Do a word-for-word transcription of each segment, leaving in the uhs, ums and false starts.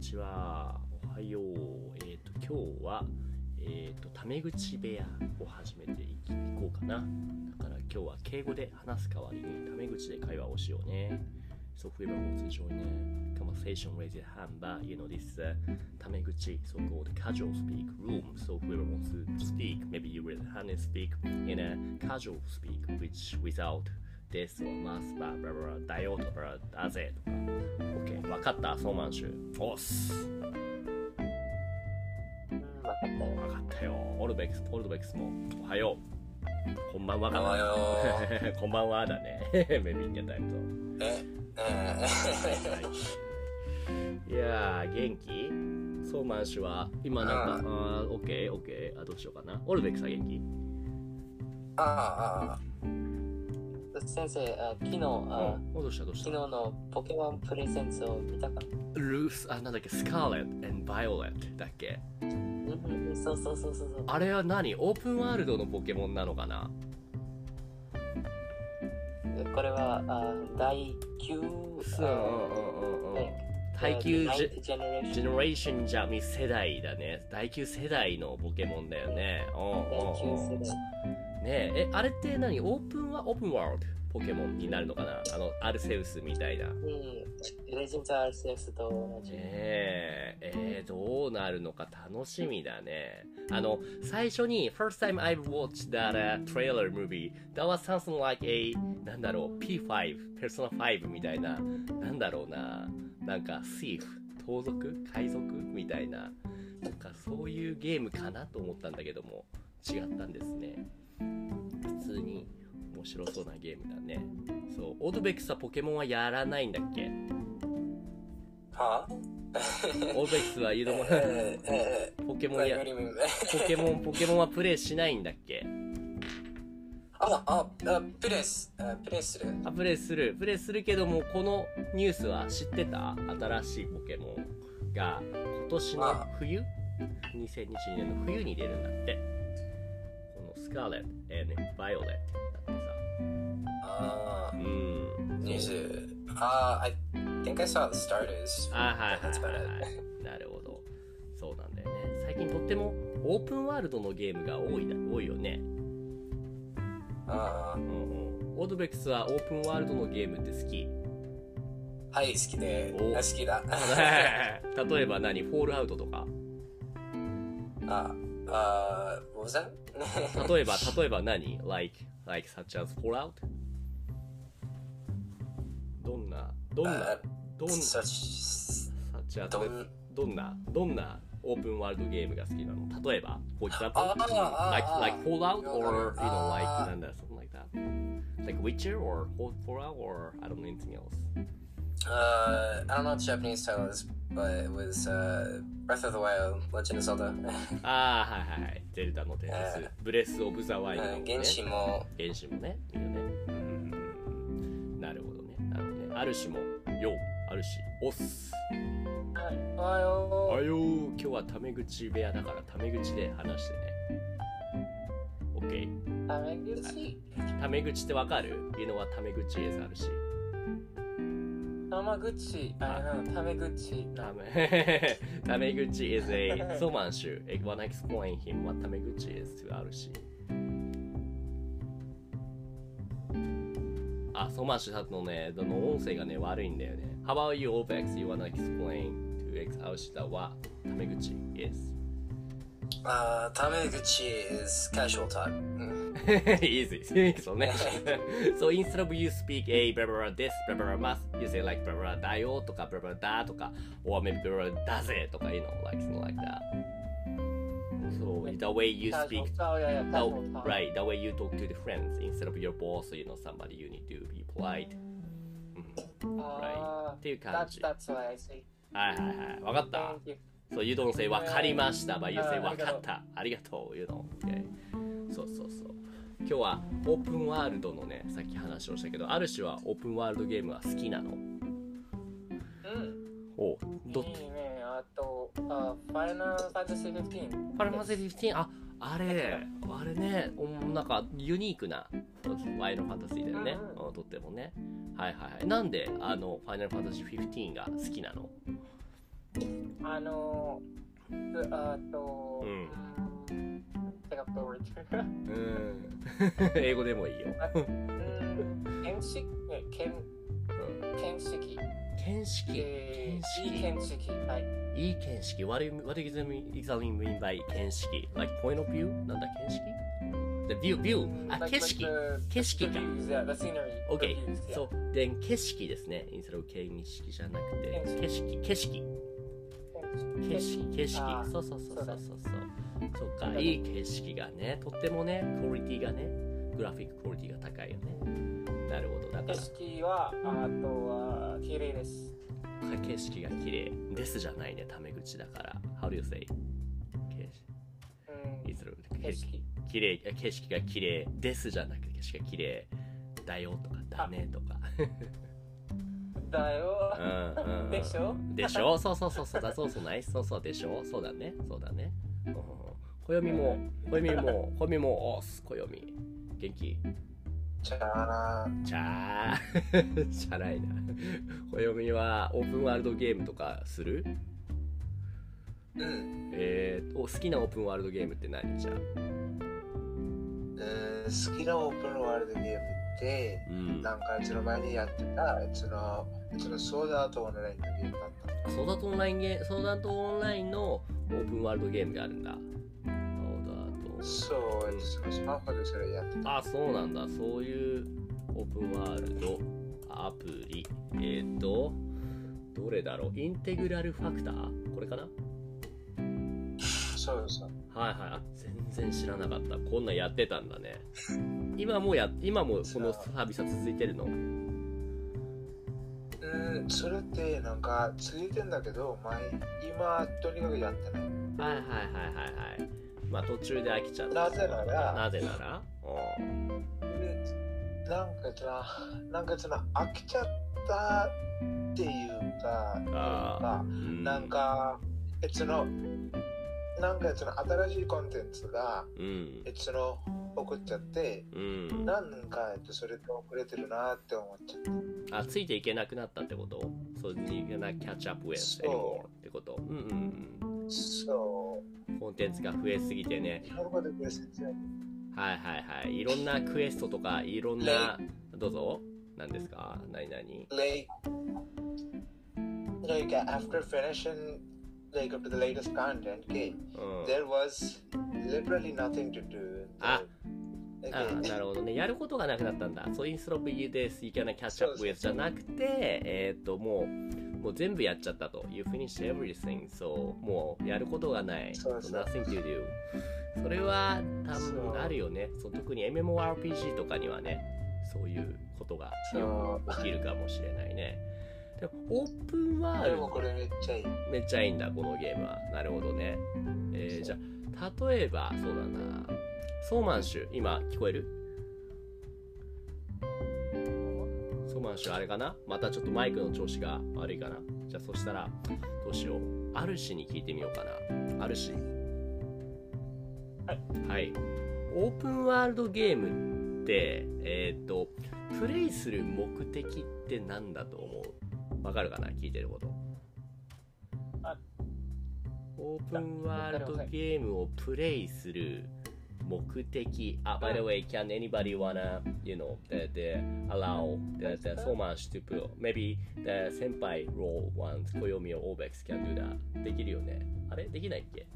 ちは。おはよう。えっ、と今日はえっ、とタメ口部屋を始めていこうかな。だから今日は敬語で話す代わりにタメ口で会話をしようね。So whoever wants to join a conversation, raise your hand. But you know this is a タメ口, so-called casual speak room. So whoever wants to speak, maybe you raise your hand and speak in a casual speak, which without this or must, blah blah blah, だよとかだぜとか。OK、わかった。ソーマンシュ。おっす。 わかったよ。 わかったよ。オルベックス、オルベックスもおはよう。こんばんはかな。 おはよう。こんばんはだね。メビンゲタイムと。 え、えいやー、元気？ソーマン氏は今なんか、あー、オッケー、オッケー。あ、どうしようかな。オルベックスは元気？ ああ、ああ。先生、あ昨日、あ、 うん、どうしたどうした？ 昨日のポケモンプレゼンツを見たか？ ルース、あ、なんだっけ、スカーレット and バイオレットだっけ？ うん、そうそうそうそう。 あれは何？オープンワールドのポケモンなのかな？ これはあ第きゅう、 第きゅうジェネレーションじゃみ世代だね。第きゅう世代のポケモンだよね。 第きゅう世代。 ねえ、え、あれって何？オープンはオープンワールドポケモンになるのかな？あのアルセウスみたいな。 うん、レジェンドアルセウスと同じ。 えー、えー、どうなるのか楽しみだね。あの最初に first time I've watched that、uh, trailer movie that was something like a なんだろう ピーファイブ Persona ファイブみたいな、なんだろうな、なんか thief 盗賊海賊みたいな、なんかそういうゲームかなと思ったんだけども違ったんですね。普通に面白そうなゲームだね。そう、オードベックスはポケモンはやらないんだっけ？ はぁ？ オードベックスは言うのもポケモンやポケモンポケモンはプレイしないんだっけ？ あああプレイスあプレイするあプレイするプレイするけども、このニュースは知ってた？新しいポケモンが今年の冬にせんにじゅうにねんの冬に出るんだって。このスカーレット and バイオレットだってさ。 ああ、 うん、 ニュース。ああ、I think I saw the starters. あはいはいはいはい。なるほど。そうなんだよね。最近とってもオープンワールドのゲームが多いだ多いよね。 ああ、うんうん。オードベックスはオープンワールドのゲームって好き？ はい、好きで。好きだ。 例えば何？フォールアウトとか？ ああ、what was that? 例えば例えば何 like like such as Fallout？ どんなどんな、uh, どんな such such as どんどんなどんなオープンワールドゲームが好きなの？例えば for example like like Fallout or you know like なんだ something like that like Witcher or Fallout or I don't know anything else. Uh, I don't know what the Japanese title is, but it was uh, Breath of the Wild, Legend of Zelda. ああはいはいはい、ゼルダの伝説、ブレスオブザワイルドのね。 原神も原神もね、いいよね。うん、なるほどね、なるほどね。あるしもよ、あるしおっす。 はい、おはよう。 おはよう。今日はタメ口部屋だからタメ口で話してね。オッケー。 タメ口。 タメ口ってわかる？ You know what タメ口 is あるし。 タメ口。あのタメ口。 タメタメ口 is a ソマンシュ。I wanna explain him what タメ口 is to あるし。あ、ソマンシュさんのね、どの音声がね悪いんだよね。How about you, Obex? You wanna explain to X アウシタはタメ口 is? Uh, タメ口 is casual talk. Easy. So, so instead of you speak a blah blah this blah blah must, you say like blah blah だよとか blah blah だとか or maybe blah blah だぜとか you know like something like that. So the way you speak, the, right? The way you talk to the friends instead of your boss, you know somebody you need to be polite. Right? っていう感じ。 That's what I say. はいはいはい。わかった。So you don't say わかりました、but you say わかった。ありがとう。You know. Okay. そうそうそう。今日はオープンワールドのね、さっき話をしたけど、ある種はオープンワールドゲームは好きなの？うん。お、どっち？いいね。あと、あ、ファイナルファンタジーフィフティーン。 ファイナルファンタジーフィフティーン、あ、あれ、あれね、なんかユニークなファイナルファンタジーだよね。うんうん、とってもね。はいはいはい。なんであのファイナルファンタジーフィフティーンが好きなの？ あのー、あと、 うん。 うん、手が通る。 うん。英語でもいいよ。 うん、見識、見、見識。 見識。 えー、いい見見識。はい。 いい見識。What do you, what do you exactly mean by 見識 ?Like point of view? なんだ見識 ?The view, view. あ、景色。景色か。 Yeah, the scenery. OK. The views, yeah. そう。then 景色ですね。instead of 見識じゃなくて。景色。景色。景色。景色。そうそうそうそうそう。そうか。いい景色がね。とってもね、クオリティがね。グラフィッククオリティが高いよね。なるほど。だから。 景色は、あとは、綺麗です。 景色が綺麗ですじゃないね、タメ口だから。How do you say? 景色。景色。綺麗、景色が綺麗ですじゃなくて、景色が綺麗だよとか、だねとか。 だよ。 うんうん、 でしょでしょそうそうそうそうだ、そうそうないそうそうでしょそうだね、そうだね。うん、暦も、暦も、暦も、おす、暦。元気ちゃーちゃーじゃないな。暦はオープンワールドゲームとかする？ うん。 えー、お好きなオープンワールドゲームって何じゃあ？ えー、好きなオープンワールドゲームって、うん、なんかその前にやってたそのそのソーダートオンラインのゲームだった。 ソーダートオンラインゲーム、ソーダートオンラインのオープンワールドゲームがあるんだ。 そう、そのスマホでそれやってた。 あ、そうなんだ。そういうオープンワールドアプリ。えっ、ー、と、どれだろう。インテグラルファクターこれかな？ そうそう。 はいはい。あ、全然知らなかった。こんなんやってたんだね。今もや、今もこのサービスは続いてるの？うん 、それってなんか続いてんだけど、前、今とにかくやってない。 はいはいはいはいはい。まあ途中で飽きちゃった。 なぜなら、 なぜなら、 うん、なんかさ、なんかその飽きちゃったっていうか、あうん、なんか、その、なんかその新しいコンテンツが、うん、その送っちゃって、うん、なんかそれと遅れてるなって思っちゃった。 あ、ついていけなくなったってこと？そうにな catch up with anymore ってこと？うんうんうん。 そう。 コンテンツが増えすぎてね。はいはいはい。いろんなクエストとか、いろんな、どうぞ。何ですか？何何 Like, like after finishing like up to the latest content, okay, there was literally nothing to do. あ、あ、なるほどね。やることがなくなったんだ。そう、インストロップ you this, you can catch up with じゃなくて、えっと、もう、もう全部やっちゃったと。You finished everything. So, もうやることがない。So, nothing to do. それは多分あるよね。その特に エムエムオーアールピージー とかにはね、そういうことがよく起きるかもしれないね。でもオープンワールド。 でもこれめっちゃいい。 めっちゃいいんだ、このゲームは。なるほどね。えー、じゃあ、例えば、そうだな。ソーマンシュ、今聞こえる？ソーマンシュあれかな？またちょっとマイクの調子が悪いかな？じゃあそしたらどうしよう。アルシに聞いてみようかな。アルシ。 はい。 はい。オープンワールドゲームって、えっと、プレイする目的って何だと思う？わかるかな？聞いてること。オープンワールドゲームをプレイする目的。あ、by the way, can anybody wanna, you know, the, the allow the, the so much to put? Maybe the 先輩 role ones, 暦 or Obex can do that. できるよね。あれできないっけ？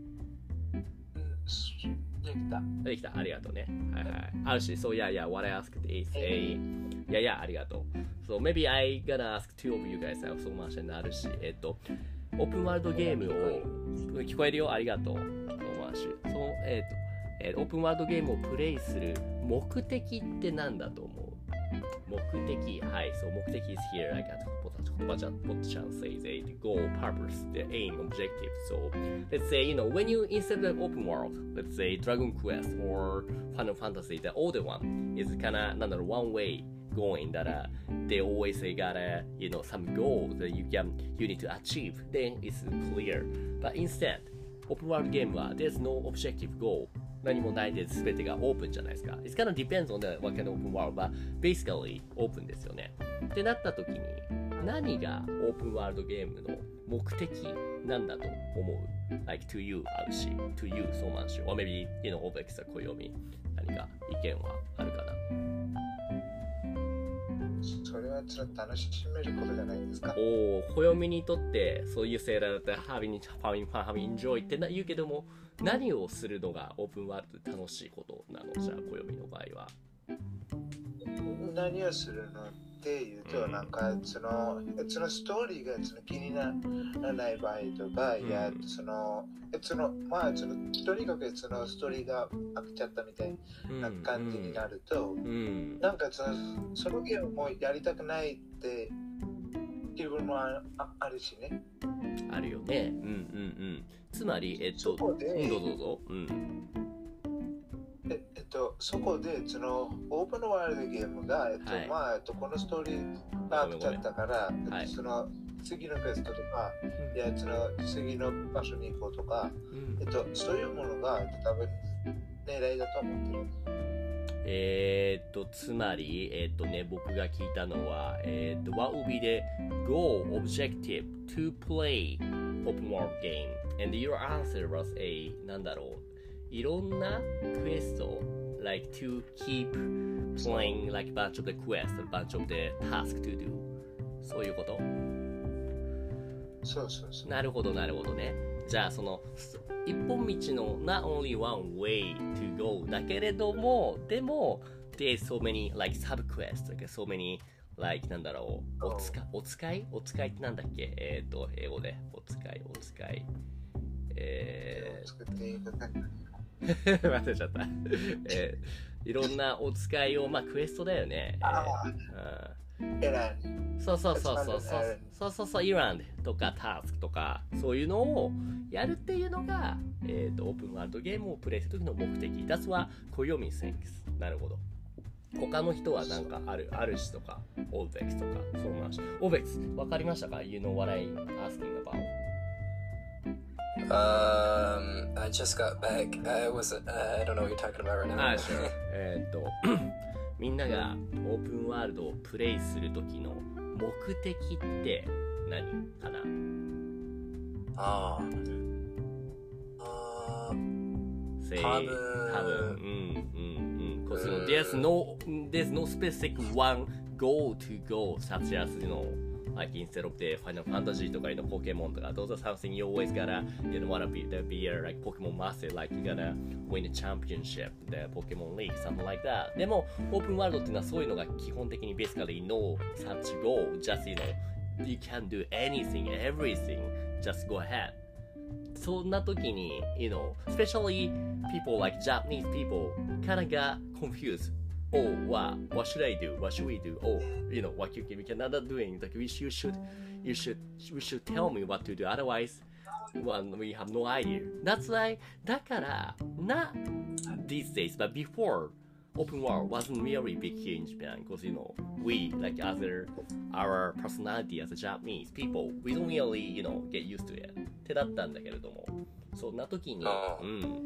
できた。 できた。ありがとうね。はいはい。あるし、so yeah, yeah, what I asked is a, yeah, yeah, ありがとう。So maybe I gonna ask two of you guys have so much and あるし、えっと、オープンワールドゲームを、聞こえるよ。ありがとう。so much。そう、えっと、えー、オープンワールドゲームをプレイする目的って何だと思う？目的、はい、そう、目的 is here. I got 言葉ちゃん、ポッチャン says a the goal, purpose, the aim, objective. So let's say, you know, when you instead of open world, let's say Dragon Quest or Final Fantasy, the older one is kind of, なんだろう、one way going that uh, they always say got a, you know, some goal that you can, you need to achieve. Then it's clear. But instead, open world game は there's no objective goal.何もないで全てがオープンじゃないですか。It's kind of depends on the what kind of open world, but basically オープンですよね。ってなった時に何がオープンワールドゲームの目的なんだと思う like to you あるし to you そうなんし or maybe you know Obex は暦何か意見はあるかな。 それはちょっと楽しめることじゃないですか。 おお、暦にとってそういうセーラーだったら having having fun having enjoy って言うけども、何をするのがオープンワールドで楽しいことなの？じゃあ暦の場合は何をするのっていうと、うん、なんかそのそのストーリーがその気にならない場合とか、うん、いやそのそのまあそのとにかくそのストーリーが飽きちゃったみたいな感じになると、うんうん、なんかそのそのゲームもやりたくないって気分も あ, あるしね。 あるよね。うんうんうん。つまりえっとそこで、 うん、どうぞどうぞ。うん。 ええっと、そこでそのオープンワールドゲームが、えっとはい、まあ、えっと、このストーリーが飽きちゃったから、はい、その次のクエストとか、うん、いやその次の場所に行こうとか、うん、えっと、そういうものが、えっと、多分狙いだと思ってる。 えー、っとつまり、えー、っとね、僕が聞いたのは、えー、っと What would be the goal objective to play open world game? And your answer was a なんだろう、いろんなクエスト like to keep playing like bunch of the quests, bunch of the task to do そういうこと？ そうそうそう。 なるほどなるほどね。じゃあその一本道の not only one way to go だけれども、でも there's so many like sub quests, like so many like なんだろう、おつかお使いお使いってなんだっけ、えっ、ー、と英語でお使いお使いえー忘れちゃった、えー、いろんなお使いをまあクエストだよね。 ああ、エラン。 そうそうそうそうそうそうそうそう、イランとかタスクとかそういうのをやるっていうのが、えー、とオープンワールドゲームをプレイする時の目的。That's what Koyomi thinks。なるほど。他の人はなんかあるあるしとかオーベックスとかそうなんし。オーベックスわかりましたか？ You know what I'm asking about? Um, I just got back. I was, uh, I don't know what you're talking about right now. あ、sure. えっとみんながオープンワールドをプレイする時の目的って何かな？ ああ。 Say, 多分。多分。うんうんうん。Because you know, there's no there's no specific one goal to go such as you know like instead of the Final Fantasy とかのポケモンとか those are something you always gotta you know wanna be the be a like Pokemon master like you gotta win a championship the Pokemon League something like that。 でもオープンワールドっていうのはそういうのが基本的に basically no such goal just you know you can do anything everything just go ahead。 そんな時に you know especially people like Japanese people kinda got confused. Oh, what, what should I do? What should we do? Oh, you know, what you can, we cannot doing. Like, we should, you should, you should, you should tell me what to do. Otherwise, well, we have no idea. That's why, だから、not these days, but before, open world wasn't really big here in Japan because, you know, we, like other, our personality as a Japanese people, we don't really, you know, get used to it. ってだったんだけれども、そんな時に、うん、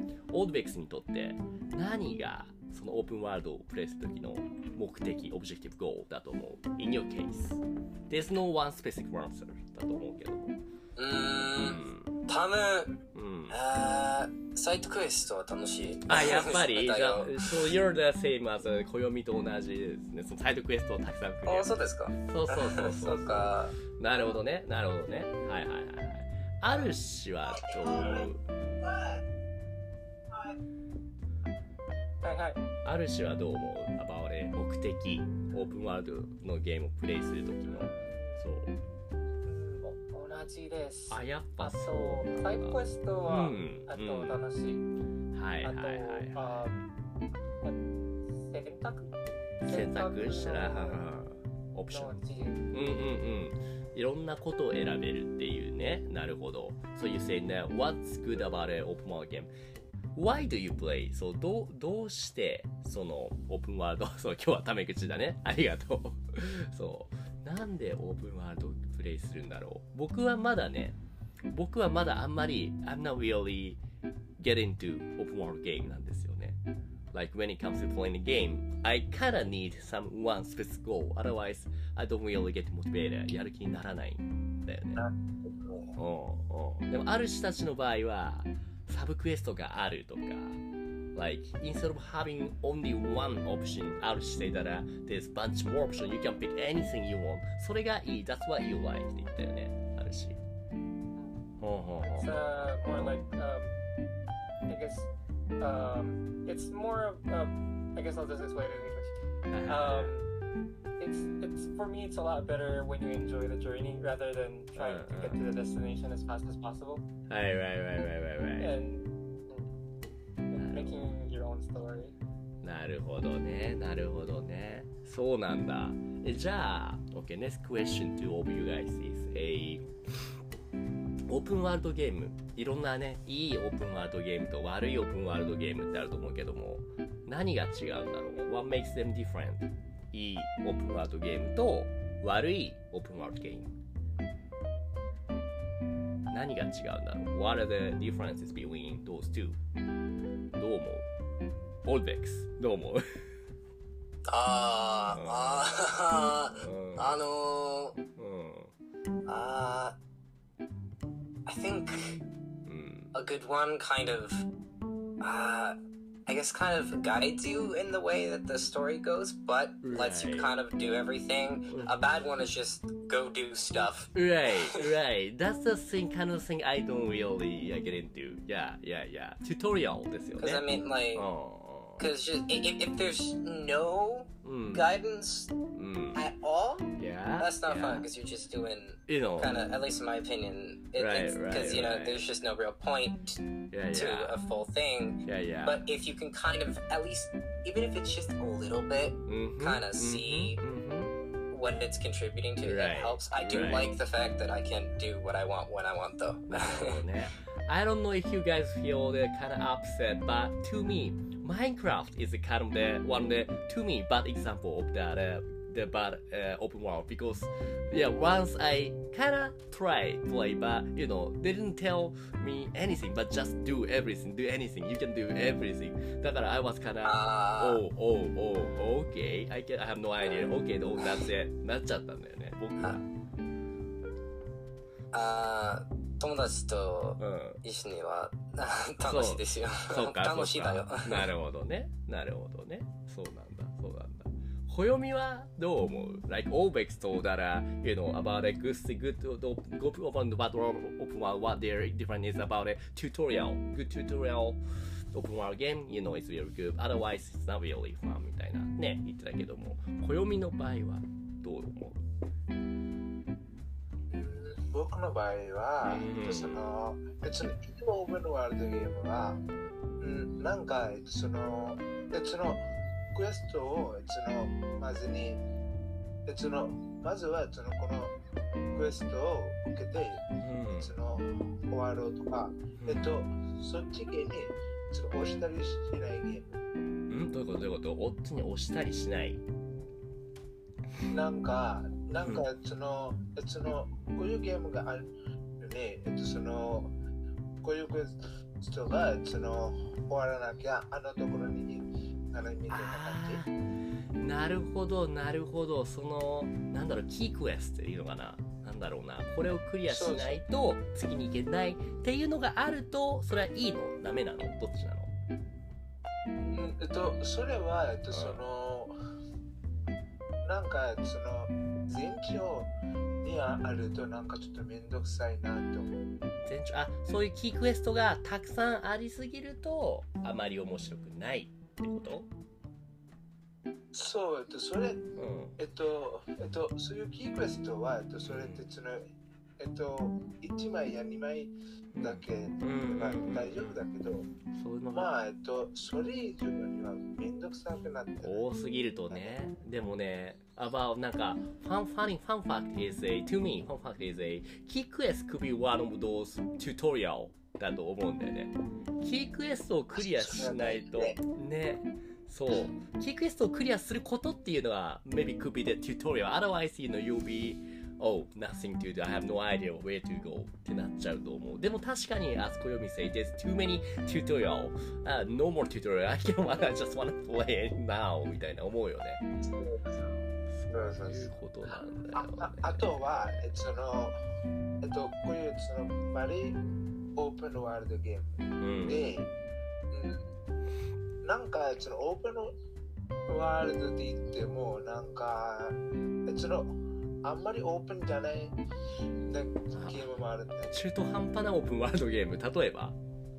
オードベックスにとって何がそのオープンワールドをプレイする時の目的、オブジェクティブゴールだと思う。In your case, there's no one specific answer だと思うけども。 うーん、多分、うん、あサイトクエストは楽しい。 あ、やっぱり。So you're the same as 暦と同じですね。そのサイトクエストをたくさんクリア。 あ、そうですか。 そうそうそうそう。 そうか。 なるほどね、なるほどね。はいはいはい。あるしはどう思う？ はいはい。 あるしはどう思う？ about it 目的、オープンワールドのゲームをプレイするときの。そう。 同じです。 あ、やっぱそう。 サイドクエストは、うん、あと楽しい。 うん、はいはいはい、はい。 あと選択選択したらオプション。うんうんうん。いろんなことを選べるっていうね。なるほど。So you say that what's good about an open world game?Why do you play? そう、どう、どうしてそのオープンワールドそう今日はタメ口だね。ありがとう。そう。なんでオープンワールドプレイするんだろう。僕はまだね、僕はまだあんまり I'm not really get into open world game なんですよね。 like when it comes to playing a game, I kinda need some one specific goal. Otherwise, I don't really get motivated. やる気にならないんだよね。おうおうでもある人たちの場合はサブクエストがあるとか、like instead of having only one option, ある人いたら there's bunch more option. You can pick anything you want. それがいい。That's what you like って言ったよね。あるし。ほうほうほう。 It's uh, more like, um, I guess, um, it's more of, um, I guess I'll just explain it in English. Um, it's, it's, for me, it's a lot better when you enjoy the journey rather than trying to get to the destination as fast as possible. Right, right, right, right, right, right. And, and making your own story. なるほどね、なるほどね。そうなんだ。え、じゃあ、OK, next question to all of you guys is a オープンワールドゲーム。いろんなね、いいオープンワールドゲームと悪いオープンワールドゲームってあると思うけども、何が違うんだろう？ What makes them different? いいオープンワールドゲームと悪いオープンワールドゲーム。何が違うんだろう？ What are the differences between those two? どう思う？オールベックス、どう思う？ あー、あー、あのー、 うん、 あー、I think a good one kind of, uh, I guess kind of guides you in the way that the story goes, but right. lets you kind of do everything. A bad one is just go do stuff. Right, right. That's the thing, kind of thing I don't really uh, get into. Yeah, yeah, yeah. Tutorial ですよね。 Because I mean, like, because oh. if, if there's no mm. guidance mm. at all, yeah, that's not yeah. fun because you're just doing, you know, kind of, at least in my opinion, it, right, it's because right, you know right. there's just no real point yeah, to yeah. a full thing. Yeah, yeah. But if you can kind of at least, even if it's just a little bit, mm-hmm, kind of mm-hmm, see mm-hmm. what it's contributing to, right, it helps. I do right. like the fact that I can do what I want when I want, though. I don't know if you guys feel the kind of upset, but to me, Minecraft is the kind of the one of the to me bad example of that uh, the bad uh, open world because yeah once I kind of tried play but you know they didn't tell me anything but just do everything do anything you can do everything だから I was kind of oh oh oh okay I can I have no idea okay oh that's it なっちゃったんだよね僕はあー友達と一緒には、うん、楽しいですよ。 そうか楽しいだよ。 なるほどね。なるほどね。そうなんだ。そうなんだ。暦はどう思う ?Like Obex told that, uh, you know, about a good, good, go open the open world, what their difference is about a tutorial, good tutorial open world game, you know, it's really good. Otherwise, it's not really fun みたいなね、言ってたけども、暦の場合はどう思う僕の場合は、うん、その別のオープンワールドゲームは、うん、なんかその別のクエストをそのまずに別のまずはそのこのクエストを受けて、うん、その終わろうとか、うん、えっとそっち系にその押したりしないゲーム。 うんどういうことどういうことおっちに押したりしない。 なんかなんかその、うん、そのこういうゲームがあるよね。えっとそのこういうクエストがその終わらなきゃあのところにならみたいな感じ。 なるほどなるほどそのなんだろうキークエストっていうのかななんだろうなこれをクリアしないと次に行けないっていうのがあるとそれはいいのダメなのどっちなの？ うんえっとそれはえっとその、うん、なんかその前兆にあるとなんかちょっとめんどくさいなと思う。 前兆あそういうキークエストがたくさんありすぎるとあまり面白くないってこと？ そう、えっと、それ、うん、えっと、えっと、そういうキークエストは、えっと、それってその、えっと、いちまいやにまいだけは大丈夫だけど、そういうのまあ、えっと、それ以上にはめんどくさくなって多すぎるとね、でもね、about なんか、fun, funny, fun fact is a, to me, fun fact is a, key quest could be one of those tutorial だと思うんだよね。キークエストをクリアしないと、ね。そうキークエストをクリアすることっていうのは maybe could be the tutorial otherwise you know you'll be Oh, nothing to do. I have no idea where to go ってなっちゃうと思う。でも確かに、あそこよみせい there's too many tutorial、uh, no more tutorial. I can I just wanna play it now みたいな思うよね。 そうそういうことなんだよ、ね。 あ, あ, あとは、えっと、その、えっと、こういうそのバリオープンワールドゲームで、うんうん、なんかそのオープンワールドで言っても、なんか、その、あんまりオープンじゃないゲームもあるんだよ。 中途半端なオープンワールドゲーム、例えば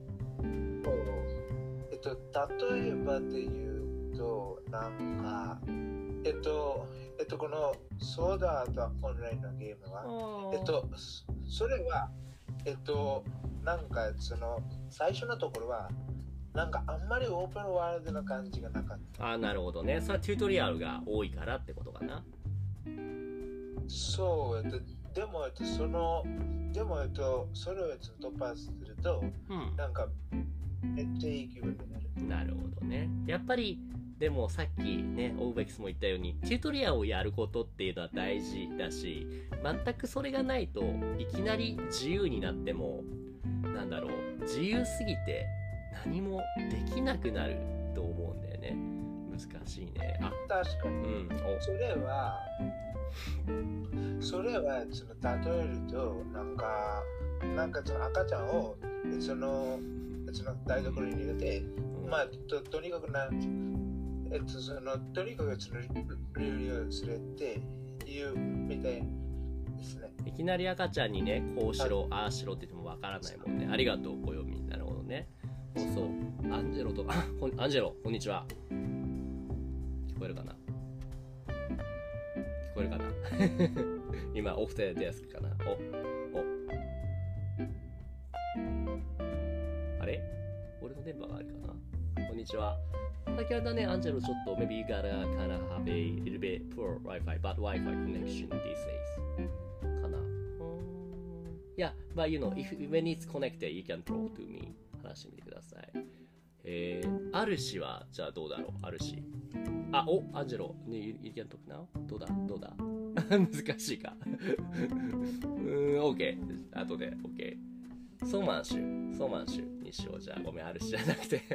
えっと、例えばで言うと、なんか、えっと、えっと、このソーダーとオンラインのゲームは、えっと、それは、えっと、なんかその、最初のところは、なんかあんまりオープンワールドな感じがなかった。 ああ、なるほどね。それはチュートリアルが多いからってことかな。 そう、えっと、でも、えっと、その、でも、えっと、それを突破すると、うん、なんか、めっちゃいい気分になる。 なるほどね。やっぱり、でもさっきね、オーベックスも言ったように、チュートリアルをやることっていうのは大事だし、全くそれがないといきなり自由になっても、なんだろう、自由すぎて何もできなくなると思うんだよね。難しいね。 あ、確かに。うん、それは、それはその例えると、なんか、なんかその赤ちゃんをその、その台所に入れて、うん、まあ と, とにかくな、えっと、そのとにかくその料理をするっていうみたいですね。 いきなり赤ちゃんにね、こうしろ、ああしろって言ってもわからないもんね。ありがとう、暦。なるほどね。そう、アンジェロと、あ、アンジェロ、こんにちは。聞こえるかな？聞こえるかな今、オフでデスクかな。お、お。あれ？俺の電波があるかな？こんにちは。先ほどね、アンジェロちょっと、maybe you gotta kind of have a little bit poor Wi-Fi, but Wi-Fi connection these days. かな。Yeah, but you know, if, when it's connected, you can talk to me. 話してみてください。えー、アルシは、じゃあどうだろう？アルシ。あ、お、アンジェロ、ね、you, you can talk now? どうだどうだ難しいか。うーん、OK。後で、OK。ソーマンシュ、ソーマンシュにしよう。じゃあ、ごめん、アルシじゃなくて。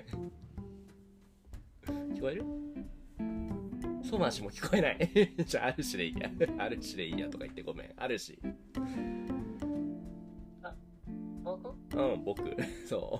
聞こえる？ソーマンシュも聞こえない。じゃあ、アルシでいいや。アルシでいいやとか言ってごめん。アルシ。 あ、僕？ うん、僕。そう。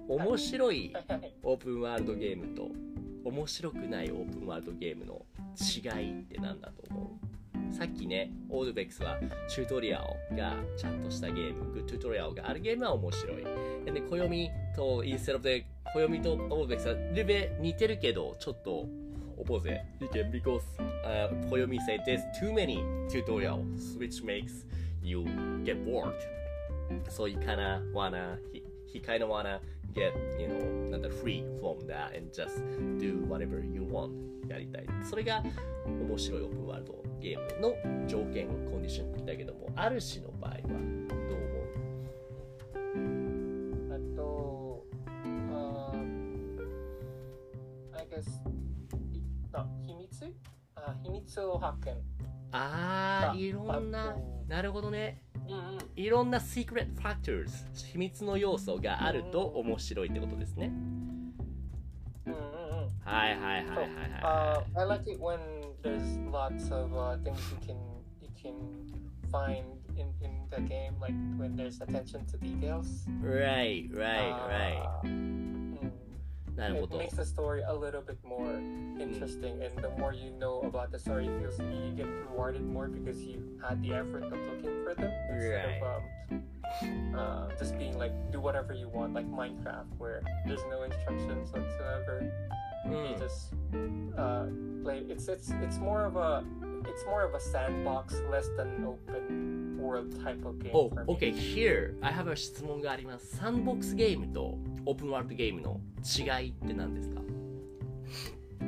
面白いオープンワールドゲームと、面白くないオープンワールドゲームの違いって何だと思う？さっきね、オールベックスはチュートリアルがちゃんとしたゲーム、グッドチュートリアルがあるゲームは面白い。で、暦とインステロで、暦とオールベックスはルベ似てるけど、ちょっとオポゼ。Again, because、uh, 暦 said there's too many tutorials, which makes you get bored. So you kinda wanna, he, he kinda wanna get, you know, なんだろう、free from that and just do whatever you want やりたい。それが面白いオープンワールドゲームの条件、コンディションだけども、ある種の場合はどう思う？あと、I guess、あ、秘密？あ、秘密を発見。 あー、いろんな、なるほどね。うんうん、いろんな secret factors 秘密の要素があると面白いってことですね。 うんうんうん。 はいはいはいはいはい。 So, uh, I like it when there's lots of uh, things you can you can find in in the game, like when there's attention to details. Right, right, right. Uh, mm. なるほど。 It makes the story a little bit more interesting, and the more you know about the story, it feels you get rewarded more because you had the effort of looking for them instead right. of um, uh, just being like do whatever you want, like Minecraft, where there's no instructions whatsoever. Mm. You just uh, play. It's it's it's more of a it's more of a sandbox, less than an open world type of game. Oh, for me. okay. Here, I have a 質問があります。サンボックスゲームとオープンワールドゲームの違いって何ですか？ うん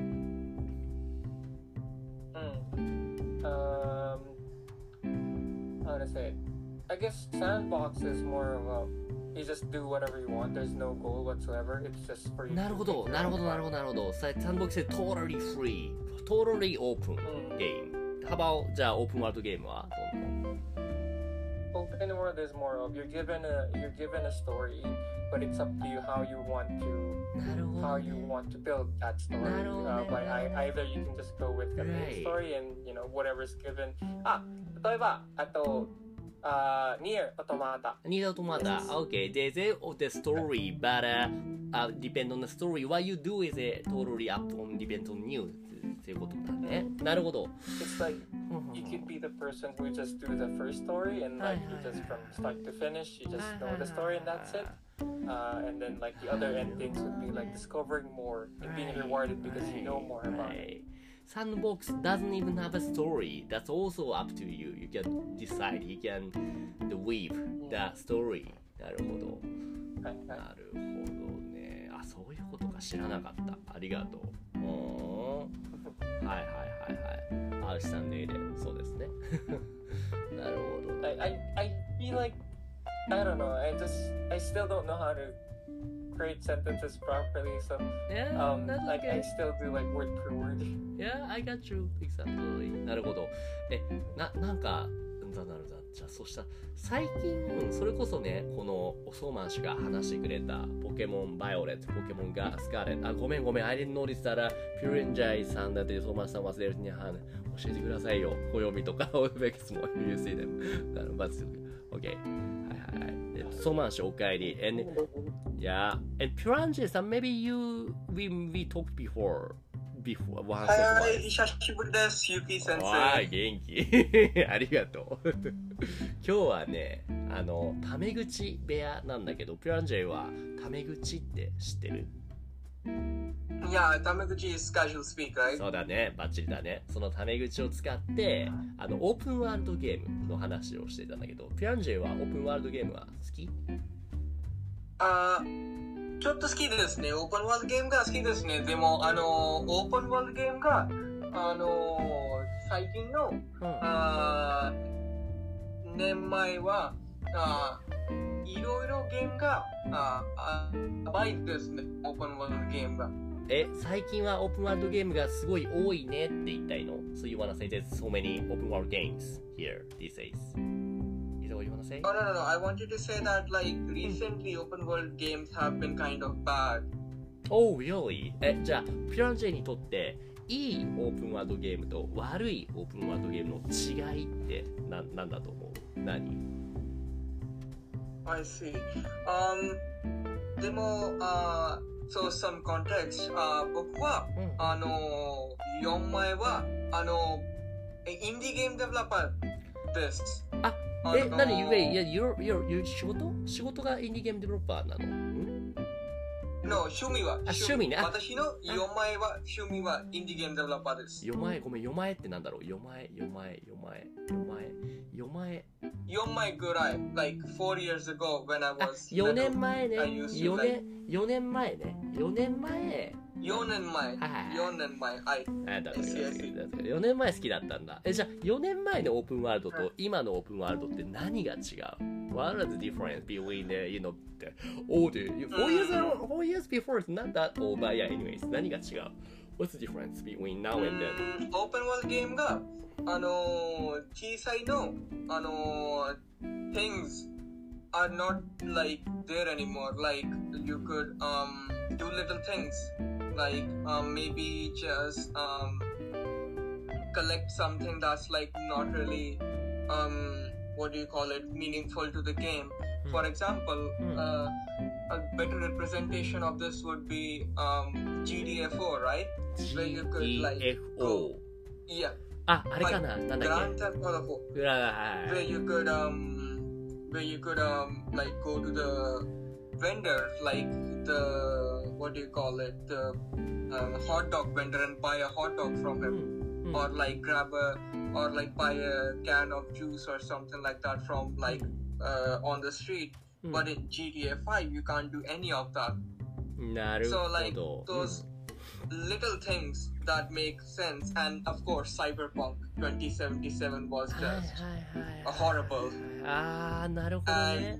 。Um, how to say it? I guess sandbox is more of a you just do whatever you want. There's no goal whatsoever. It's just for you. なるほど、なるほど、なるほど、なるほど。サンボックスで totally free, totally open game How about じゃあオープンワールドゲームはどんどん Open world is more of you're given a you're given a story, but it's up to you how you want to なるほど、ね、 how you want to build that story. なるほど、ね uh, but I, either you can just go with the main Right. story and you know whatever's given. あ、例えばあとあ、Nier Automata. Nier Automata. Okay, they they of the story, but uh, uh, depend on the story. What you do is it totally up on depend on you. っていうことだね。なるほど。 It's like you could be the person who just do the first story and like you just from start to finish, you just know the story and that's it. Uh, and then like the other endings would be like discovering more and being rewarded because you know more about it. Sandbox doesn't even have a story. That's also up to you. You can decide. You can weave the story. なるほど。なるほどね。あ、そういうことか知らなかった。ありがとう。はいはいはいはい。アルシさんの絵でそうですね。なるほど。 I, I, I feel like, I don't know, I just, I still don't know how to create sentences properly, so yeah, um, that's like okay. I still do like word per word. Yeah, I got you. Exactly. なるほど。え、な、なんか、だなるだ。じゃあ、そしたら、最近、それこそね、このおそまん氏が話してくれたポケモンバイオレット、ポケモンがスカーレット、あ、ごめんごめん、I didn't notice that ピューレンジャイさんだっておそまんさん忘れるには教えてくださいよ。暦とか、オベックスも You see them. なるほど。OK。はいはいはい。おそまん氏お帰り。And, yeah. And ピューレンジャイさん、maybe you, we, we talked before. Before, はい、久しぶりです、ゆき先生。 わー、元気。ありがとう。今日はね、あの、タメ口部屋なんだけど、ピュランジェイはタメ口って知ってる？ いや、タメ口 is casual speak, right? そうだね、バッチリだね。そのタメ口を使って、あの、オープンワールドゲームの話をしてたんだけど、ピュランジェイはオープンワールドゲームは好き？ あーちょっと好きですね。オープンワールドゲームが好きですね。でも、あの、オープンワールドゲームが、あの、最近の、うん、あ年前は、あいろいろゲームが、ああ倍ですね。オープンワールドゲームが。 え、最近はオープンワールドゲームがすごい多いねって言いたいの？ So you wanna say there's so many open world games here these days?Is that what you want to say? Oh, no, no, no. I want you to say that, like, recently open world games have been kind of bad. Oh, really? え、じゃあ、ピュランジェにとって、いいオープンワールドゲームと悪いオープンワールドゲームの違いってな、なんだと思う？何？ I see. Um, でも、uh, so some context. Uh, 僕は、うん、あの、よんまいは、あの、インディーゲームデベロッパーです。 あえ、なに、ウェイ、いや、you're, you're, you're 仕事仕事がインディーゲームデベロッパーなの？ん No、趣味は。 あ、趣味ね。 私のよんまいは、趣味はインディーゲームデベロッパーです。 よんまい、ごめん、よんまいってなんだろう？よんまい、よんまい、よんまい、よんまい、よんまい。 よんまいぐらい、like four years ago when I was よねんまえね。よねん、よねんまえね。よねんまえ。 よねんまえ。よねんまえ。はい。 あ、だからよねんまえ好きだったんだ。え、じゃあよねんまえのオープンワールドと今のオープンワールドって何が違う？ What are the difference between the, you know, the old, four years, four years before it's not that old, but yeah, anyways, 何が違う？ What's the difference between now and then? オープンワールドゲームが、あのー、小さいの、あのー、things are not like there anymore. Like, you could, um, do little things.Like um, maybe just um, collect something that's like not really um, what do you call it meaningful to the game. Mm. For example, mm. uh, a better representation of this would be um, G D F O, right? Where you could like go, yeah. あ、あれかな、なんだっけ Grand Theft Auto four. Where you could um, where you could um, like go to the vendor, like the what do you call it, the uh, hot dog vendor, and buy a hot dog from him, mm. or like grab a or like buy a can of juice or something like that from like uh, on the street. Mm. But in G T A five you can't do any of that. So like those mm. little things that make sense, and of course Cyberpunk twenty seventy-seven was just a horrible. Ah, なるほどね。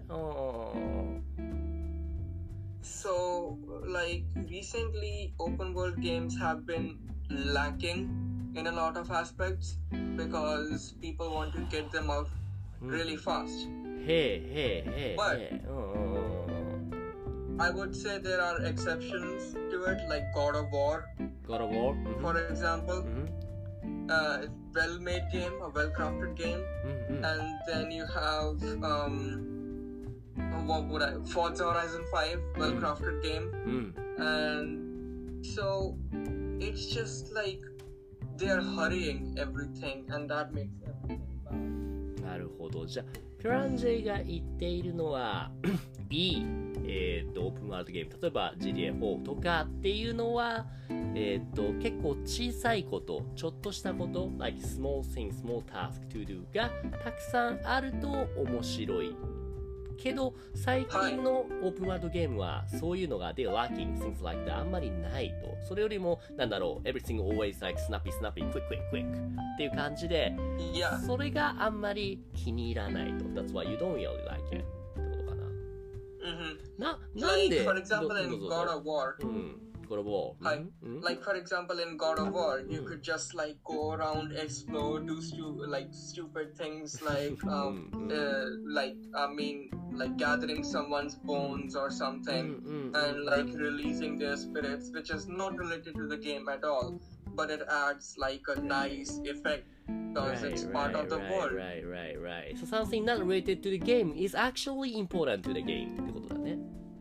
So, like, recently, open world games have been lacking in a lot of aspects because people want to get them out really fast. Hey, hey, hey, But hey. Oh, I would say there are exceptions to it, like God of War, God of War? Mm-hmm. for example. Mm-hmm. Uh, well-made game, a well-crafted game, Mm-hmm. and then you have um, what would I? Forza Horizon five, well-crafted game, Mm. and so it's just like they're hurrying everything, and that makes everything bad. なるほど。じゃあ、ピュランジェが言っているのは、いい、えー、とオープンワールドゲーム、例えば ジーティーエーフォー とかっていうのは、えー、と結構小さいこと、ちょっとしたこと、like small thing, small task to do がたくさんあると面白い。けど、最近のオープンワールドゲームは、そういうのが、they're lacking, things like that あんまりないと。それよりも、なんだろう、everything always like snappy, snappy, quick, quick, quick っていう感じで、 Yeah. それがあんまり気に入らないと。That's why you don't really like it ってことかな。 Mm-hmm. な、なんで Like for example ど in どうぞ God of War. うん。God of War。 はいうんうん Like for example in God of War, you could just like go around, explore, do stu- like stupid things like um uh, like I mean like gathering someone's bones or うん something うん and like releasing their spirits, which is not related to the game at all, but it adds like a nice effect because it's part of the right, world. Right, right, right. So something not related to the game is actually important to the game ってことだね。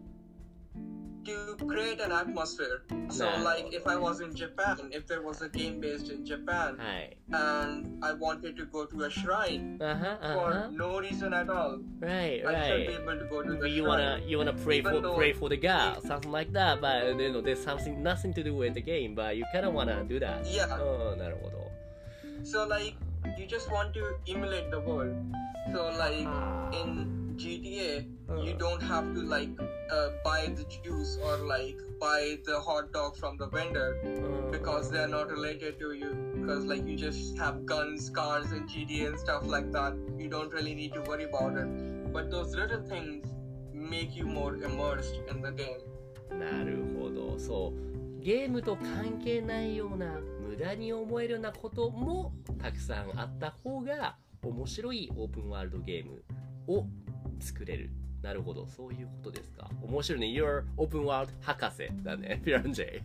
To create an atmosphere. So Nah. like if I was in Japan, if there was a game based in Japan はい。 and I wanted to go to a shrine あはあ for は。 no reason at all, Right, I should be right. able to go to the You shrine. wanna you wanna pray Even for though- pray for the god, something like that. But you know, there's something nothing to do with the game, but you kinda wanna do that. Yeah. うん、なるほど。 So like you just want to emulate the world. So like Ah. in G T A, you Uh. don't have to like uh, buy the juice or like buy the hot dog from the vendor うん because they're not related to you. Because like you just have guns, cars, and G T A and stuff like that. You don't really need to worry about it. But those little things make you more immersed in the game. なるほど。そうゲームと関係ないような無駄に思えるようなこともたくさんあった方が面白いオープンワールドゲームを作れる。なるほど、そういうことですか。面白いね。You're Open World 博士だね、ピランジェ。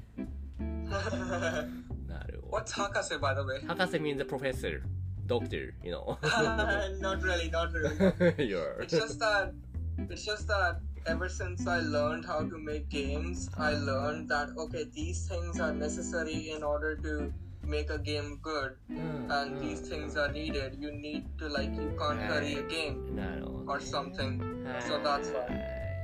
なるほど。 What's Hakase, by the way? 博士 means a professor, doctor, you know. Not really, not really. You're... It's just that it's just that ever since I learned how to make games, I learned that okay, these things are necessary in order to make a game good, うん and うん these things are needed. You need to like you can't hurry a game なるほどね or something. はい So that's why.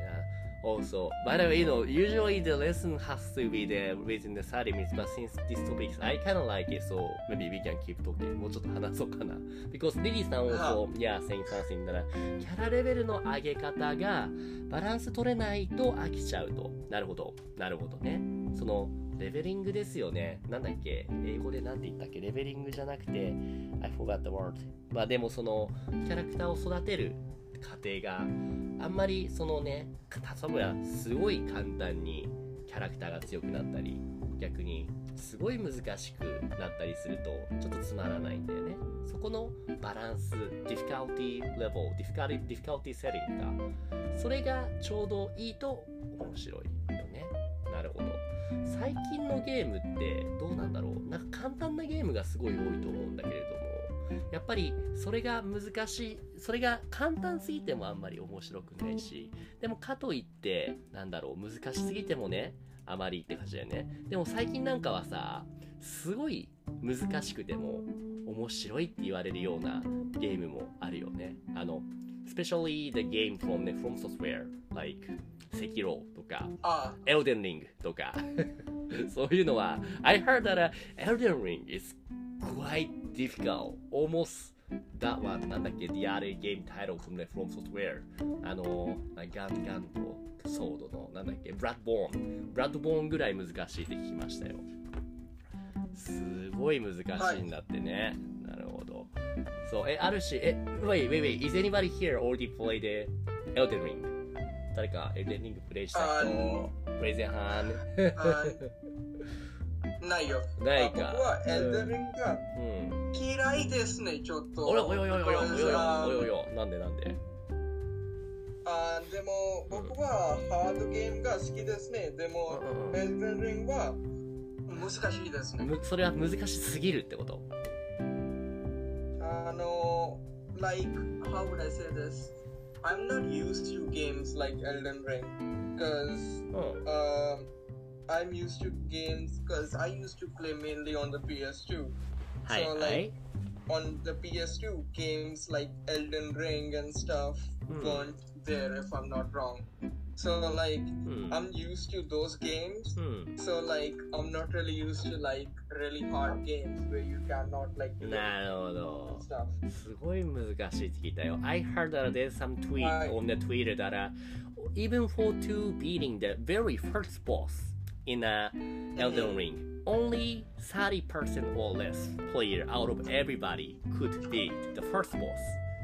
Also, by the way, you know, usually the lesson has to be there within the thirty minutes, but since this topic, I kind of like it, so maybe we can keep talking. もうちょっと話そうかな。Because リリーさん also, yeah, saying something だから、キャラレベルの上げ方がバランス取れないと飽きちゃうと。なるほど。なるほどね。その、レベリングですよね。なんだっけ英語でなんて言ったっけレベリングじゃなくて、I forgot the word. まあでもその、キャラクターを育てる過程があんまりそのね、例えばすごい簡単にキャラクターが強くなったり、逆にすごい難しくなったりするとちょっとつまらないんだよね。そこのバランス、difficulty level、difficulty, difficulty setting がそれがちょうどいいと面白いよね。なるほど。最近のゲームってどうなんだろう。なんか簡単なゲームがすごい多いと思うんだけれども、やっぱりそれが難しい、それが簡単すぎてもあんまり面白くないし、でもかといってなんだろう、難しすぎてもねあまりって感じだよね。でも最近なんかはさ、すごい難しくても面白いって言われるようなゲームもあるよね。あの especially the game from, the, from software like セキロとか Ah, Elden Ring とかそういうのは I heard that、uh, Elden Ring is quite difficult almost that one なんだっけ the other game title from the From Software あのガンガンとソードのなんだっけブラッドボーンブラッドボーンぐらい難しいって聞きましたよ。すごい難しいんだってね、はい、なるほど。そうえあるしえ wait wait wait is anybody here already played the Elden Ring 誰かエルデンリングプレイした人、 Uh, Raise your hand. uh, ないよ。 ないか。 僕はエルデンリングがうん。 嫌いですね、ちょっと。 およおよおよおよおよ Because, およ um, およおよなんでなんであでも僕はハードゲームが好きですね。でも、 うんうんエルデンリングは難しいですね。 むそれは難しすぎるってこと？ あの、like, how would I say this? I'm not used to games like Elden Ring because うん um, I'm used to games because I used to play mainly on the ピーエスツー. はい So は like い on the ピーエスツー games like Elden Ring and stuff Hmm. weren't there if I'm not wrong. So like うん I'm used to those games. うん So like I'm not really used to like really hard games where you cannot like do なるほど stuff. すごい難しいって聞いたよ I heard that there's some tweet はい on the Twitter that uh, even for two beating the very first boss in a Elden Ring only thirty percent or less player out of everybody could beat the first boss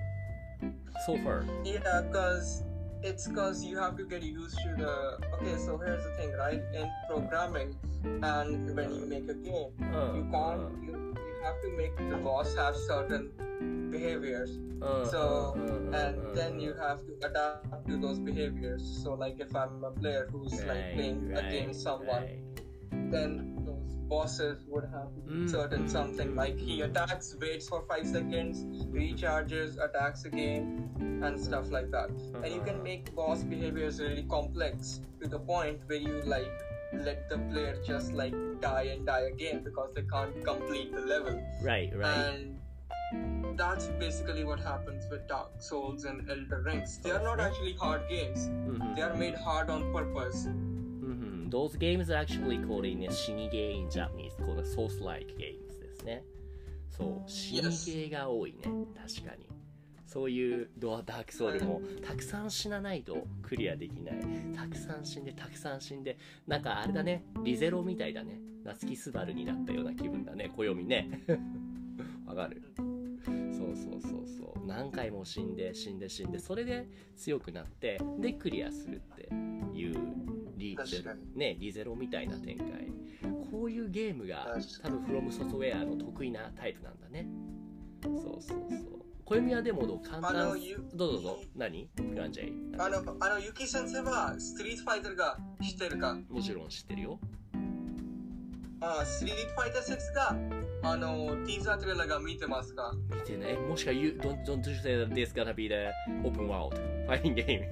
so far. Yeah, because it's because you have to get used to the. Okay, so here's the thing, right? In programming, and when you make a game, うん you can't. You, you have to make the boss have certain behaviors. うん So うんうん and then you have to adapt to those behaviors. So like if I'm a player who's like playing against someone, then those bosses would have Mm. certain something like he attacks, waits for five seconds, recharges, attacks again, and stuff like that. And you can make boss behaviors really complex to the point where you like let the player just like die and die again because they can't complete the level. Right, right. And that's basically what happens with Dark Souls and Elder Rings. They are not actually hard games. うんうん They are made hard on purpose. Mm-hmm. Those games are actually called in Shinige in Japanese, called Souls-like games ですね。そう、死にゲーが多いね、確かに。そういうドアダークソウルもたくさん死なないとクリアできない。たくさん死んで、たくさん死んで、なんかあれだね、リゼロみたいだね。夏木スバルになったような気分だね、暦ね。わかる？そうそうそうそう。何回も死んで、死んで、死んで、それで強くなって、でクリアするっていうリゼロ、ね、リゼロみたいな展開。こういうゲームが多分フロムソフトウェアの得意なタイプなんだね。そうそうそう。暦はでもどう簡単。どうぞどうぞ。何？プランジェイ。 あの、あの、ユキ先生はストリートファイターが知ってるか？ もちろん知ってるよ。 あ、ストリートファイターシックスがあの、ティーザートレーラーが見てますか？ 見てね。もしか you don't don't you say that this gonna be the open world fighting game?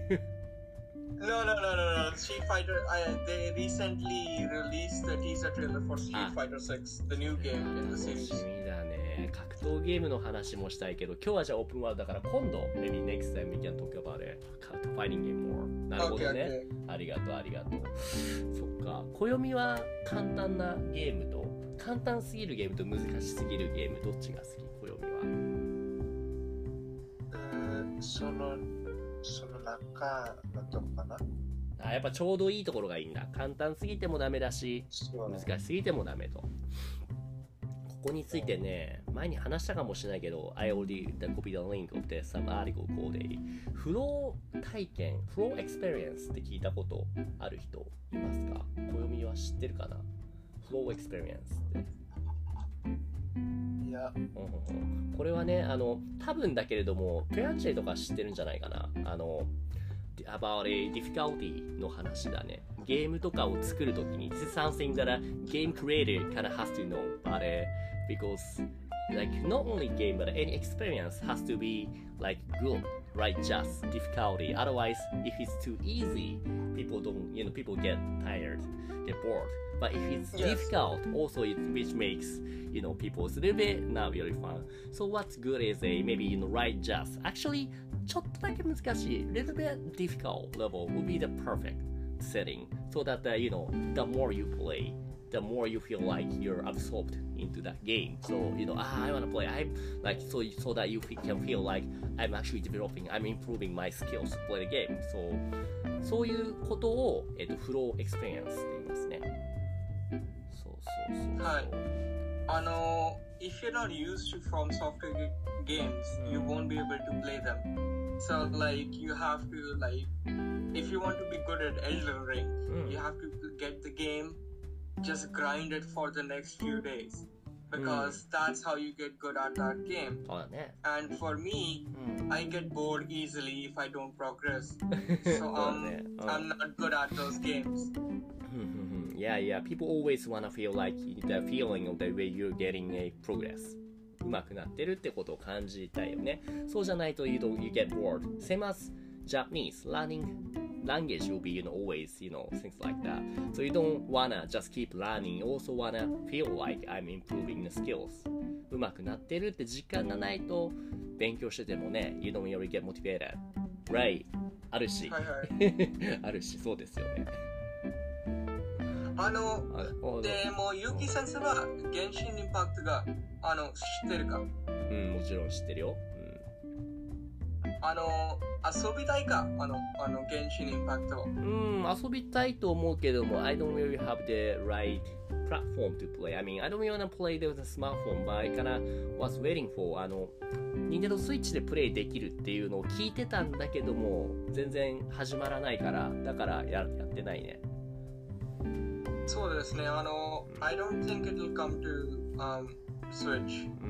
No, no, no, no, no. Street Fighter. I, they recently released the teaser trailer for Street Ah. Fighter six, the new game in the 楽し series. みだね。格闘ゲームの話もしたいけど、今日はじゃあオープンワールドだから今度 maybe next time we can talk about it. Fighting game more. なるほどね。 Okay, okay. ありがとうありがとう。そっか。暦は簡単なゲームと簡単すぎるゲームと難しすぎるゲームどっちが好き？暦は。 うーそのその中のとこかな。 あ、やっぱちょうどいいところがいいんだ。簡単すぎてもダメだし、 そうね難しすぎてもダメと。ここについてね、前に話したかもしれないけど、I already copied the link of the some article called a フロー体験、フローエクスペリエンスって聞いたことある人いますか？暦は知ってるかな？フローエクスペリエンスって。 いや、 うんうんうん、これはね、あの、多分だけれども、ペアチェとか知ってるんじゃないかな。あの、about a difficulty の話だね。ゲームとかを作るときに、this is something that a game creator kind of has to know, but、uh, because like not only game but any experience has to be like good, right? Just difficulty. Otherwise, if it's too easy, people don't, you know, people get tired, get bored. But if it's Yes. difficult, also it which makes you know people it's a little bit not really fun. So what's good is a maybe you know right just actually ちょっとだけ難しい little bit difficult level would be the perfect setting so that uh, you know the more you play, the more you feel like you're absorbed into that game. So you know ah, I want to play. I like so so that you can feel like I'm actually developing, I'm improving my skills to play the game. So そういうことをえっとフローエクスペリエンスって言いますね。そうそうそうそう。 はい。あの、if you're not used to From Software g- games, you won't be able to play them. So like you have to like, if you want to be good at Elden Ring, うん you have to get the game just grind it for the next few days because mm. that's how you get good at that game. Oh, yeah. And for me, mm. I get bored easily if I don't progress. So um, oh. I'm not good at those games. Yeah, yeah. People always want to feel like the feeling of the way you're getting a progress. 上手くなってるってことを感じたいよね。そうじゃないと you don't, you get bored. Same as Japanese learning language will be, you know, always, you know, things like that. So you don't wanna just keep learning. You also wanna feel like I'm improving the skills. 上手くなってるって実感がないと勉強しててもね、you don't really get motivated. Right? あるし。 はいはい。 あるし、そうですよね。 あの、でも、ゆうき先生は、原神インパクトが、あの、知ってるか？ うん、もちろん知ってるよ。 うん、あの、遊びたいか？あの、あの、原神インパクト。 うん、遊びたいと思うけども、I don't really have the right platform to play. I mean, I don't really want to play with a smartphone, but I kinda was waiting for, あの、Nintendo Switch でプレイできるっていうのを聞いてたんだけども、全然始まらないから、だからや、やってないね。 そうですね、あの、I don't think it will come to、um, Switch、うん、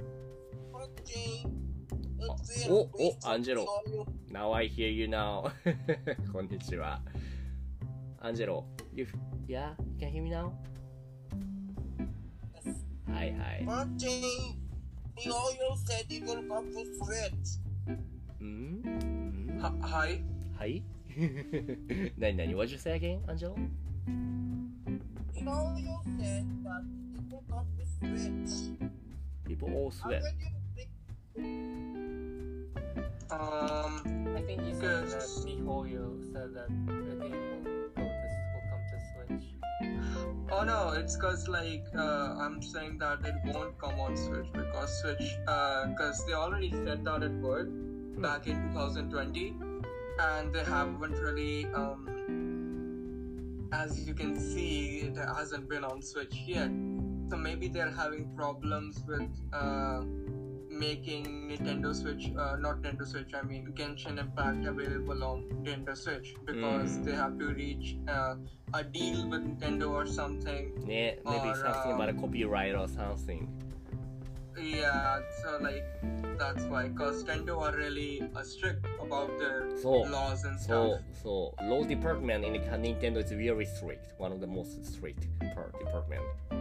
お、お、アンジェロ Now I hear you now こんにちはアンジェロ You, yeah, you can hear me now? はいはい He always said he will come to Switch うん、 は、はいはいなになに What did you say again, アンジェロ He always said that people come to Switch. People all sweat. Um, I think he said that Mihoyo said that the game will, go to, will come to Switch. Oh no, it's cause like uh, I'm saying that it won't come on Switch because Switch, uh, cause they already said that it would hmm. back in twenty twenty, and they haven't really um. As you can see, it hasn't been on Switch yet. So maybe they're having problems with uh, making Nintendo Switch, uh, not Nintendo Switch, I mean Genshin Impact available on Nintendo Switch because mm. they have to reach uh, a deal with Nintendo or something. Yeah, maybe or, something uh, about a copyright or something. Yeah, so like that's why, cause Nintendo are really uh, strict about their so, laws and stuff. So, so law department in the Nintendo is very strict. One of the most strict part department. So,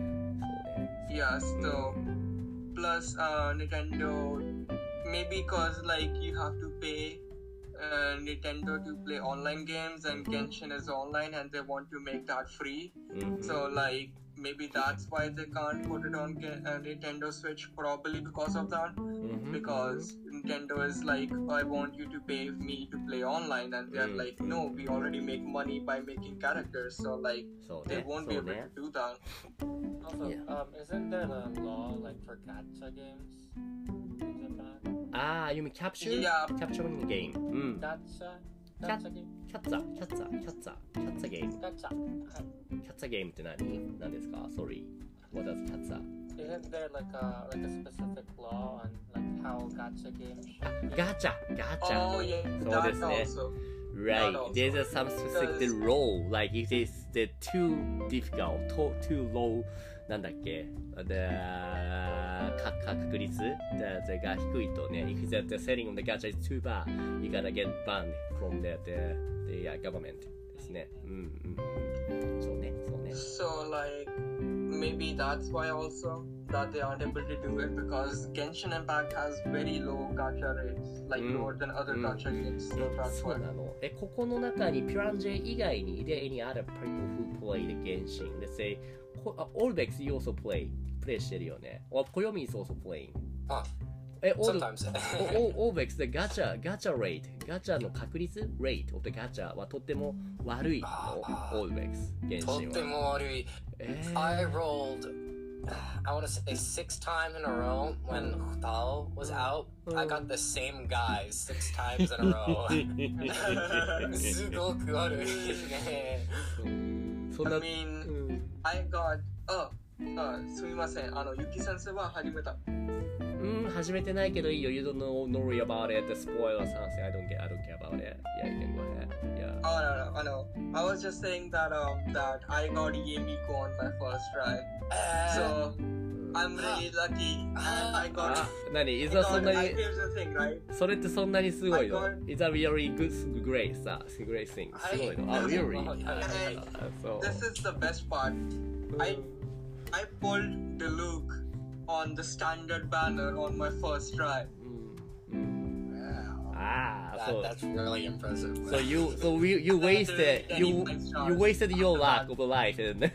yeah, so mm. plus uh, Nintendo, maybe cause like you have to pay uh, Nintendo to play online games and Genshin is online and they want to make that free. Mm-hmm. So like. Maybe that's why they can't put it on uh, Nintendo Switch, probably because of that. Mm-hmm. Because Nintendo is like, I want you to pay me to play online, and they're mm-hmm. like, no, we already make money by making characters, so like, so they won't so be able there. to do that. Also, yeah. um, isn't there a law like for gacha games in Japan? Ah, you mean capture? Yeah. Capturing the game. Mm. Gacha? キャッツァ、キャッツァ、キャッツァ、キャッツァ、キャッツァゲーム。 キャッツァ。はい。 キャッツァゲームって何？何ですか？ Sorry. What does キャッツァ? Isn't there like a like a specific law on like how gacha games? あ、ガチャ、ガチャ。 Oh yeah. そうですね。Right. There's a some specific rule. Like if it's the too difficult, too too low. なんだっけ the 確率 the が低いとね if the setting of the gacha is too bad you gotta get banned from the, the, the government ですねうんうんそうねそうね So like maybe that's why also that they aren't able to do it because Genshin Impact has very low gacha rates like、うん、lower than other、うん、gacha games so that's why そうなのえここの中にピュランジェ以外に there any other people who play the Genshin let's say Olvex you also play play してるよね or Koyomi is also playing あえ sometimes Olvex the gacha gacha rate ガチャの確率 rate of the gacha はとっても悪い Olvex 原神はとっても悪い、えー、I rolled I want to say six times in a row when Hutao was out I got the same guys six times in a row すごく悪いねそんな I mean I got oh あすみませんあのゆき先生は始めたうん、始めてないけどいいよ。You don't know, no worry about it. Spoil or something. I don't get, I don't care about it. Yeah, you can go ahead. Yeah. Oh no, no, I know. I was just saying that um that I got Yemiko on my first try. Uh, So I'm really lucky. I got. あ、何？い I ざそん got なに I, here's the thing, right? それってそんなにすごいの I got- Is a really good, great, さ、great thing. すごいの。あ、 I- really? I- あ、そう。 This is the best part. I I pulled the Luke on the standard banner on my first try. うんうん。 wow. ああ、そ That, う。 that's really impressive. So you, so you, you wasted, you, you wasted your luck of life and.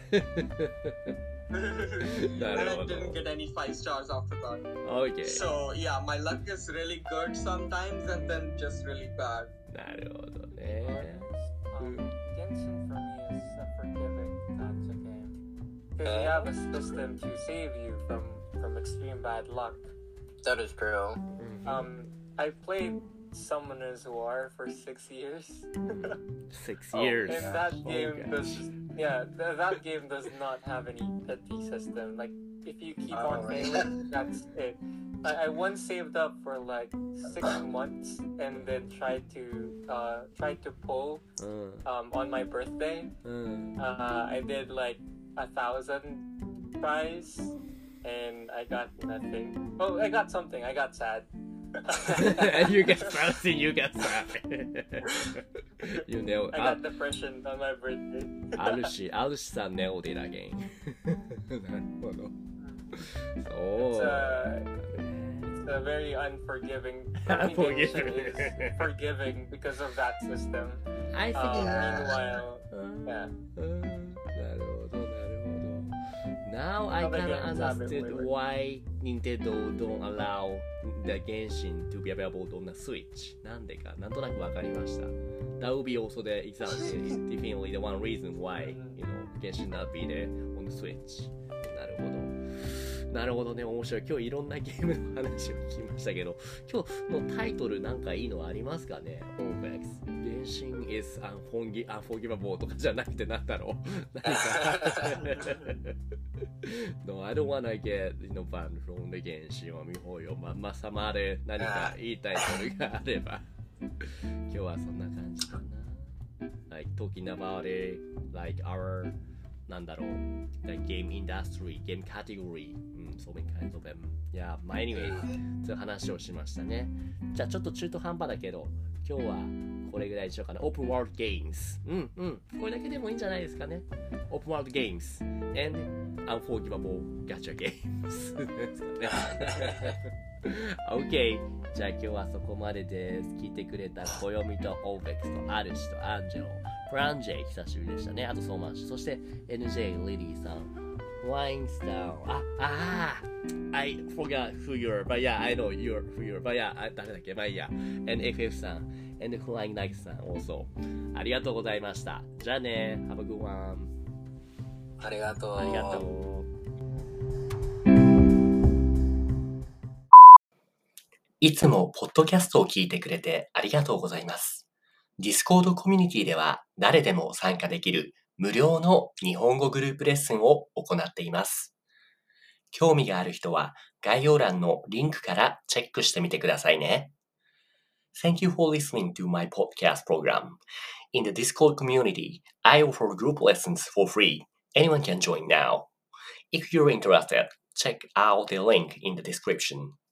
And I didn't get any five stars after that. Okay. So yeah, my luck is really good sometimes and then just really bad. なるほどね。 Um, Genshin for me is a forgiving gacha game. Because you have a system to save you from, from extreme bad luck. That is true. Um, I played Summoners War for six years. Six Oh, years. and that Oh, game gosh. does, yeah, th- that game does not have any pity system. Like, if you keep Oh, on right. failing, that's it. I, I once saved up for like six months and then tried to, uh, tried to pull, うん。 um, on my birthday. うん。 Uh, I did like a thousand tries and I got nothing. Oh, I got something. I got sad. You get something, you get something. You know, I あ got depression on my birthday. あるし、あるしさんネオデラゲン。なるほど。そ It's う。 a, it's a very unforgiving. Unforgiving. Genshin is forgiving because of that system. I think Um, Yeah. meanwhile, うん yeah. うんなるほど、なるほど。Now I Other can games have it understand way why Nintendo don't allow the Genshin to be available on the Switch. なんでか、なんとなくわかりました。That would be also the example, definitely the one reason why, you know, Genshin not be there on the Switch. なるほど。なるほどね、面白い。今日いろんなゲームの話を聞きましたけど、今日のタイトルなんかいいのありますかね オーベックス。原神 is unforgi- unforgivable とかじゃなくてなんだろう何かNo, I don't wanna get, you know, banned from the 原神は見ほうよ。まんま様で何か言いたいことがあれば。今日はそんな感じかな。Like, talking about it, like our なんだろう the game industry, game category, うん、so many kinds of them. Yeah, but anyway, そういう話をしましたね。じゃあちょっと中途半端だけど、今日はこれぐらいにしようかな。Open World Games. うんうん。これだけでもいいんじゃないですかね。Open World Games and Unforgivable Gacha Games ですかね。OK。じゃあ今日はそこまでです。聞いてくれた暦とオーベックスとアルシとアンジェロ。フランジェ久しぶりでしたね。あとソーマンシュ。そして エヌジェイ リリーさん。ワインスター。あ、あー I forgot who you're, but yeah, I know you're who you're, but yeah, あ誰だっけまあいいや。and エフエフ さん。and Flying Knight さん also。ありがとうございました。じゃあね。Have a good one. ありがとう。 ありがとう。いつもポッドキャストを聞いてくれてありがとうございます。Discord コミュニティでは誰でも参加できる無料の日本語グループレッスンを行っています。興味がある人は概要欄のリンクからチェックしてみてくださいね。Thank you for listening to my podcast program. In the Discord community, I offer group lessons for free. Anyone can join now. If you're interested, check out the link in the description.